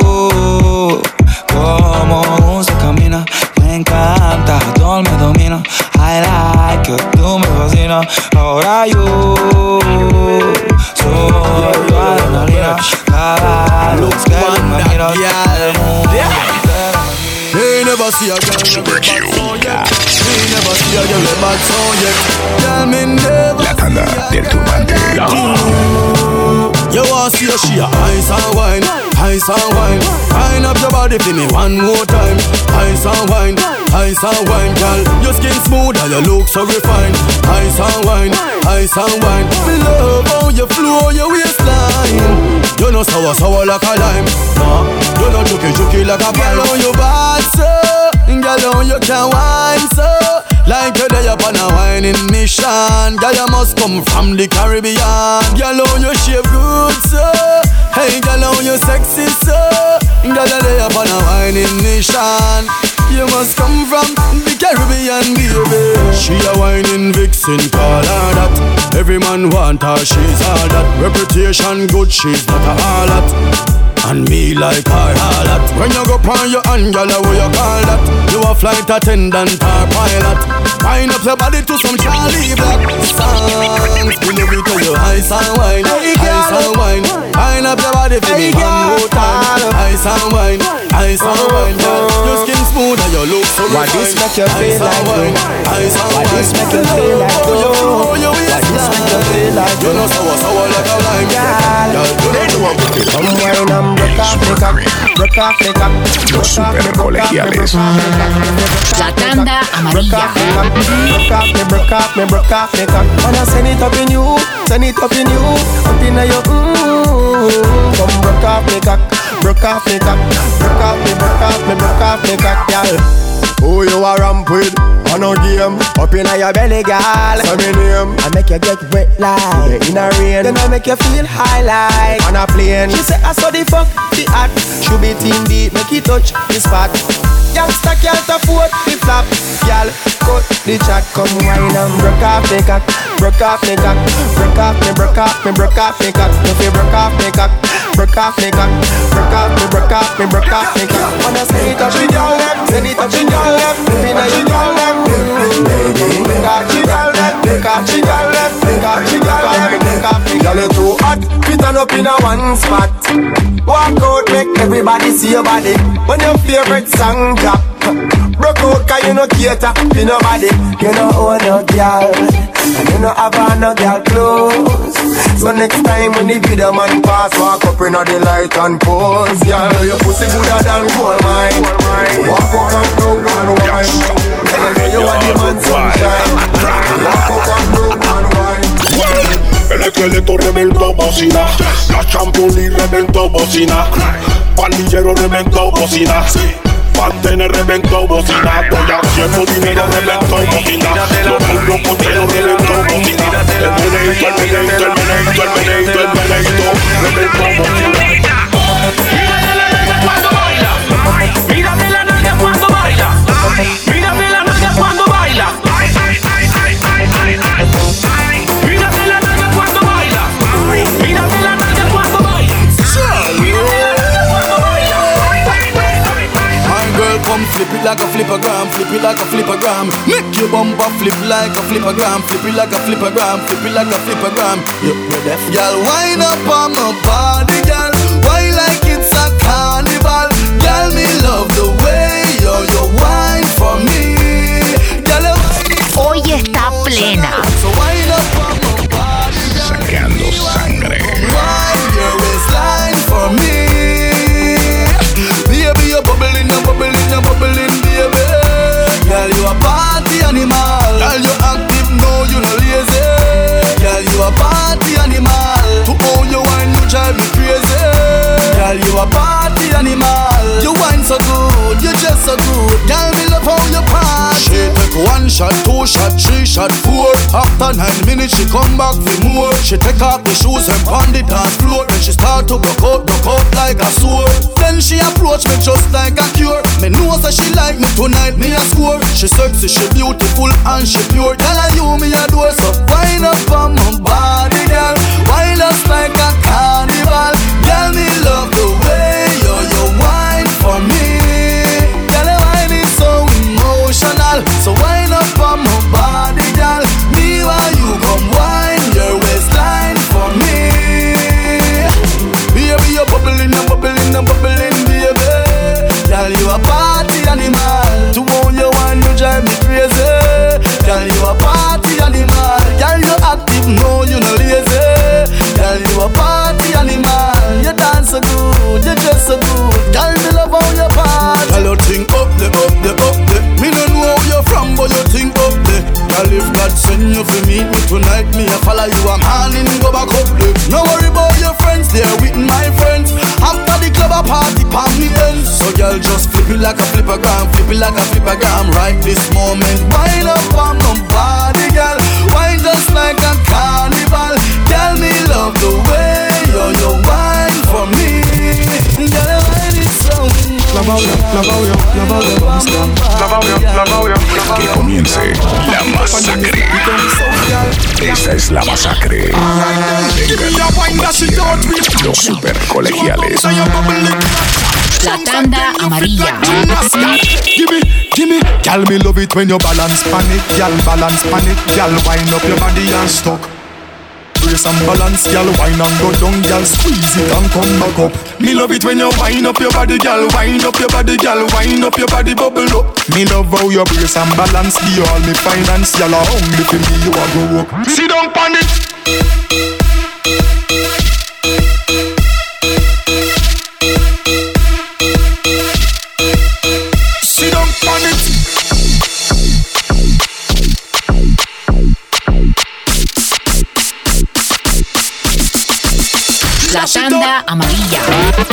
como se camina. Me encanta, todo me domina. I like que tú me fascinas. Ahora yo soy tu adrenalina. Cada luz que me miras, el mundo entero me They never see a girl never bad so yet. They never see a girl never bad so yet. Girl, me never. La tanda del turbante. You want to see a she a ice and wine, ice and wine. Wind up your body for me one more time. Ice and wine, girl. Your skin smooth and your look so refined. Ice and wine, ice and wine. Me love how you flow your waistline. You know sour like a lime. No, you know juky like a girl on your bad so. Girl on you can wine so. Like you're there upon a whining mission. Girl you must come from the Caribbean. Girl on you shape good so. Hey girl on you sexy so. Girl you're there upon a whining mission. You must come from the Caribbean, baby. She a whining vixen, call her that. Every man want her, she's all that. Reputation good, she's not a harlot. And me like her harlot. When you go on your hand, girl, what you call that? You a flight attendant or pilot. Wind up your body to some Charlie Black songs. Believe it to you, ice and wine, ice and wine. Wind up your body for me one more time. Ice and wine, ice and wine, girl. Your skin smooth and your look so Why this make you feel like though? Why this make you feel like though? Why this make you feel like you know sour like a lime, girl. Come wine and break off the cock, break off the cock. Los super colegiales. La tanda amarilla. Break off me, break off the cock. Wanna send it up in you, send it up in you, up in your Come break off the cock, break off the cock, break off me, break off me, break off the cock, girl. Who you a ramp with? On a game, Up in your belly, girl. say me name. I make you get wet like in a rain. Then I make you feel high like On a plane. She say I saw the fuck, the act. Should be team deep, make it touch the spot. Youngster can't afford the flap. Girl, cut the chat, come wine and break off the cock. Break off the cock, break off me, break off me, break off the cock. If you break off the cock, break off the cock. Break off me, break off me, break off the cock. Wanna send it up in your left, send it up in your left, in your left. Baby, break off the girl left, break off the girl left, break off the girl left, break off the girl. Girl, you too hot, fit on up in a one spot. Walk out, make everybody see your body. When your favorite song drop, broke out 'cause you no cater to nobody. You know own no girl, and you know have on no girl clothes. So next time when the video man pass, walk up in the light and pose. Girl, your pussy gooder than gold mine. Walk out and down and wine. Girl, you bocina. La Champions League reventó bocina. Pandillero reventó bocina. Mantener reventó bocina. Estoy haciendo dinero reventó bocina. Los muros cocheros reventó bocina. El meneito reventó bocina. Mírame la nalga cuando baila. Mírame la nalga cuando baila. Mírame la nalga cuando baila. Mírame la nalga cuando baila. Mírame la nalga cuando baila. Come flip it like a flippergram, flip it like a flippergram. Make your bumper flip like a flippergram, flip it like a flippergram, flip it like a flippergram. You're deaf, y'all. Wind up on my body, girl. Why like it's a carnival, girl? Me love the way you wine for me, girl. Hoy está plena. So wind up on my body, girl. Sacando sangre. Wine your waistline for me. Baby, you're bubbling, baby. Girl, you a party animal. Girl, you active, no, you no lazy. Girl, you a party animal. To own your wine, you drive me crazy. Girl, you a party animal. You wine so good, you just so good. Girl, me love how you party. She take 1 shot, 2 shot, 3 shot, 4. After 9 minutes, she come back for more. She take off the shoes and pound the dance floor. Then she start to broke out like a sword. Then she approach me just like a cure. Me know that she like me tonight, me a score. She sexy, she beautiful and she pure. Girl, I you me a door, so wind up on my body, girl. Wind us like a carnival. Girl, me love the way you wine for me. Girl, the wine is so emotional. So wind up on my body, girl. Me while you come wine your waistline for me. Baby, you're bubbling, baby. Girl, you a party animal. To own your wine, you drive me crazy. Girl, you a party animal. Girl, you active, no, you no lazy. Girl, you a party animal. You dance so good, you dress so good. Girl, me love how you party. Girl, you think up there. Me no know where you're from, but you think up there. Girl, if God send you for meet me tonight, me a follow you a man and go back up there. No worry about your friends, they're with my friends. After the club a party, palm me ends. So girl, just flip it like a flippergram, right this moment. Wind up on my body, girl. Wine just like a carnival. Girl, me love the way you wine for me. Girl, wine is so. Que comience la masacre. Esta es la masacre. Los super colegiales. La tanda amarilla. Gimme, girl, me love it when you balance pan it, girl, balance pan it, girl, wind up your body and stuck. Brace and balance, girl, wine and go down, girl, squeeze it and come back up. Me love it when you wind up your body, girl, wind up your body, girl, wind up your body, bubble up. Me love how you brace and balance, give you all me finance, girl, hungry for me, you a go up. Sit down pan it. La tanda amarilla.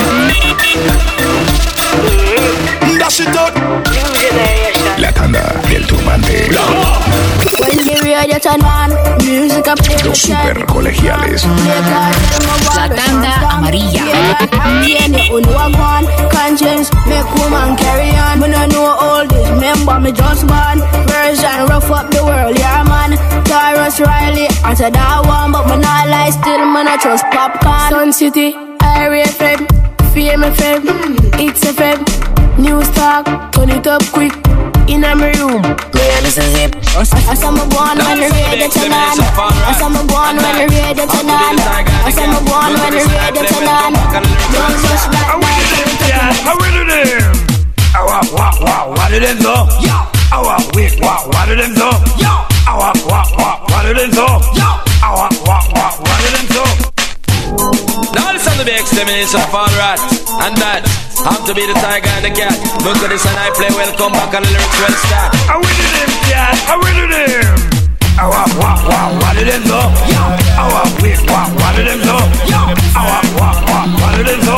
La tanda del turbante. Los super colegiales. La tanda amarilla. Conscience make woman carry on. When I know all this, remember me just born. Version rough up the world, yeah man. Taurus Riley, answer that one, but me not lie still, man I trust popcorn. Sun City, Area FM, Fame FM, It's FM, News Talk, turn it up quick. In my room, man, this is it. I saw my born when the radio turn on. I saw my born when the radio turn on. I saw my born when the radio turn on. Don't rush back, I will do them. What do them do? What do them do? What do them do? What do them do? Now listen to the extermination of all rats. And that have to be the tiger and the cat. Look at this and I play welcome back and the lyrics well start. I will do them, cat. I will do them. What did them do? What did them do? What did them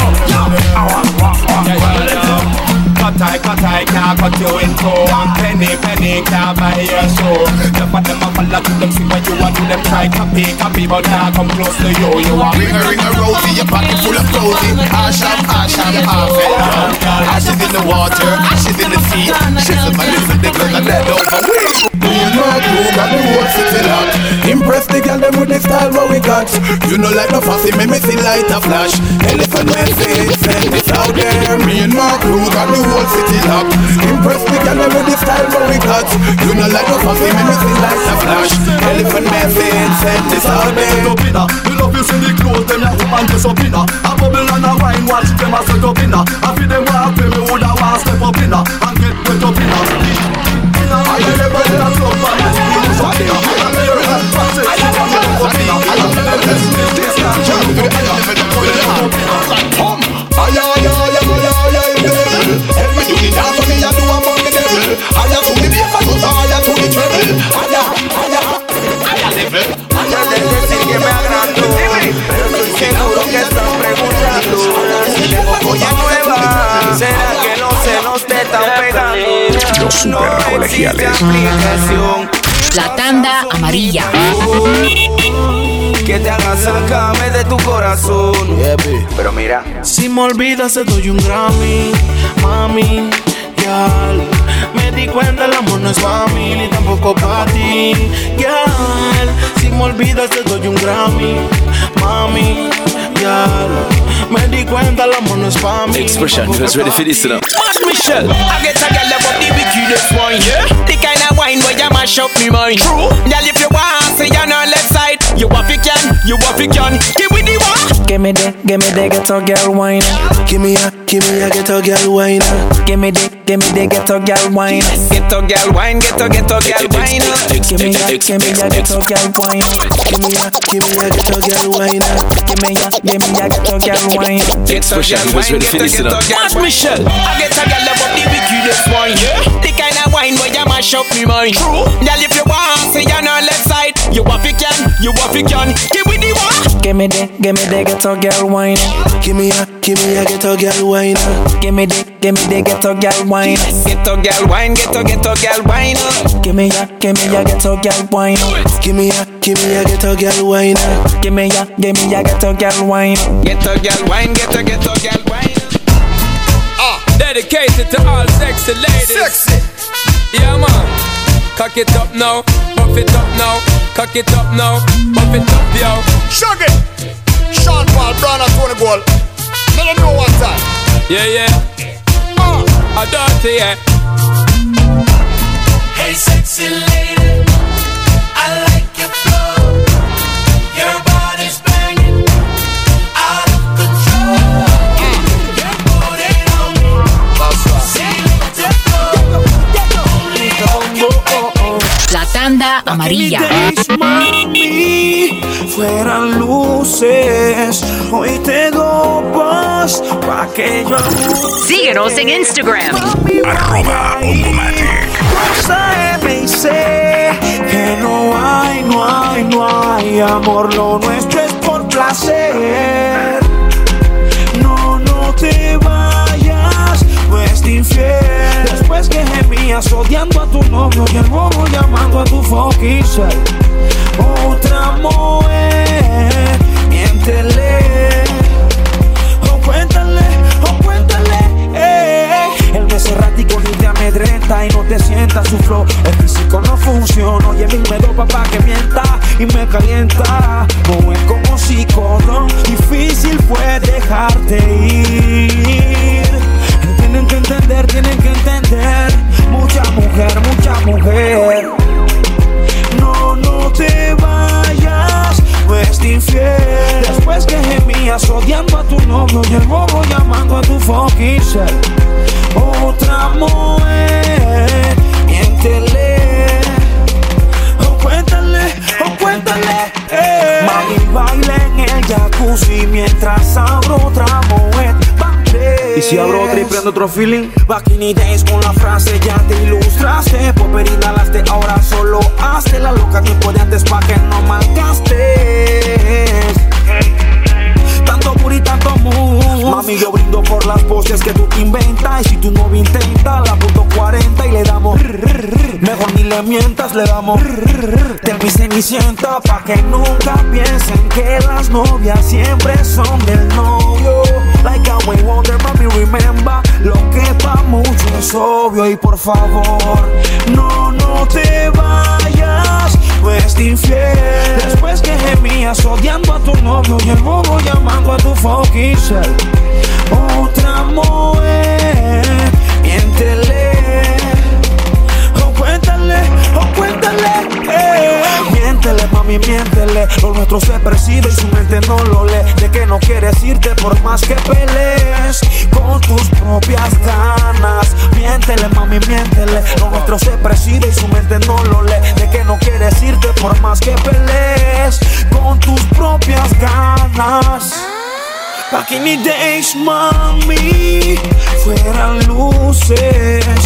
do? Cut I can't cut you in two. And penny can't buy your soul. The part them a follow to them, see what you want to them. Try copy, but now come close to you. You want ring a rosy, your pocket full of cozy. Ash and half it. Ashes in the water, ashes in the sea. Shizzle my little niggas and let over we. Me and my crew got the whole city locked. Impress the girl them with the style what we got. You know like no fussy, me see light a flash. Elephant message, send this out there. Me and my crew got the whole city locked. Impress the girl them with the style what we got. You know like no fussy, me see light a flash. Elephant message, send this out there. You love you see the clothes them ya up and dress up inna. A bubble and a wine, watch them a set up inna. I feel them walk play, me woulda want step up inna and get wet up inna. I never let a club man do something. ¿Será que los celos te están pegando? Los super colegiales. La tanda amarilla. Que te haga sacarme de tu corazón. Pero mira, si me olvidas te doy un Grammy, mami, girl. Me di cuenta el amor no es pa' mí ni tampoco pa' ti, girl. Si me olvidas te doy un Grammy, mami, girl. Me di cuenta el amor no es pa' mí. Expression, you guys ready for this now? Mad Michelle, I get a girl about the wickedest wine, yeah. The kind of wine where you mash up me mind. True, girl if you want, say you're on left side. You want it can, give me the one. Give me the ghetto girl wine. Give me a ghetto girl wine. Give me the ghetto girl wine. Ghetto girl wine, ghetto girl wine. Give me a ghetto girl wine. Give me a ghetto girl wine. Give me a ghetto girl wine. Expression, you guys ready for this now? Mad Michelle, I get a girl about the wickedest wine, yeah. The kind of wine where you mash up me mind. True, girl if you want, say you're on left side. You want it can, give me the one. Give me the ghetto girl wine. Give me a ghetto girl wine. Give me the ghetto girl wine. Ghetto girl wine, ghetto girl wine. Give me a ghetto girl wine. Give me a ghetto girl wine. Give me a ghetto girl wine. Ghetto girl wine, ghetto girl wine. Dedicated to all sexy ladies. Sexy. Yeah man. Cock it up now, puff it up now. Cock it up now, puff it up yo. Shug it. Sean Paul, Brown and Tony Gold. Let them know one time. Yeah. A dirty, yeah. Hey sexy lady, I like your flow. Your body's banging, out of control. You put it on me. That's right. See the flow. Only you can. La tanda amarilla. Mami, fueran luces, hoy te dopas pa' que yo. Síguenos en Instagram. @Ondomatic. Sabe y sé que no hay amor, lo nuestro es por placer. No te vayas, pues te infiel. Después que gemías odiando a tu novio y el bobo llamando a tu fucking self. Otra mujer, miéntele, o cuéntale, El beso errático ni te amedrenta y no te sienta su flow. El físico no funciona, oye mi me dopa pa' que mienta y me calienta. No es como psicólogo, difícil fue dejarte ir. Tienen que entender, mucha mujer. No te vayas, pues te infiel. Después que gemías odiando a tu novio y el bobo llamando a tu fucking self. Otra mujer, miéntele, o cuéntale, Mami baila en el jacuzzi mientras abro otra mujer. Y si abro otra y prendo otro feeling. Back in the days con la frase ya te ilustraste. Popper inhalaste, ahora solo hazte la loca. Tiempo de Mejor ni le mientas, le damos de mi cenicienta pa' que nunca piensen que las novias siempre son del novio. Like a way wonder, mami, remember, lo que pa' mucho es obvio. Y por favor, no te vayas, pues te infiel. Después que gemías odiando a tu novio y el bobo llamando a tu fucking self. Otra mujer, miéntele, cuéntale, miéntele, mami, miéntele. Lo nuestro se percibe y su mente no lo lee. De que no quieres irte por más que pelees con tus propias ganas. Miéntele, mami, miéntele. Lo nuestro se percibe y su mente no lo lee. De que no quieres irte por más que pelees con tus propias ganas. Back in the days, mami, fueran luces.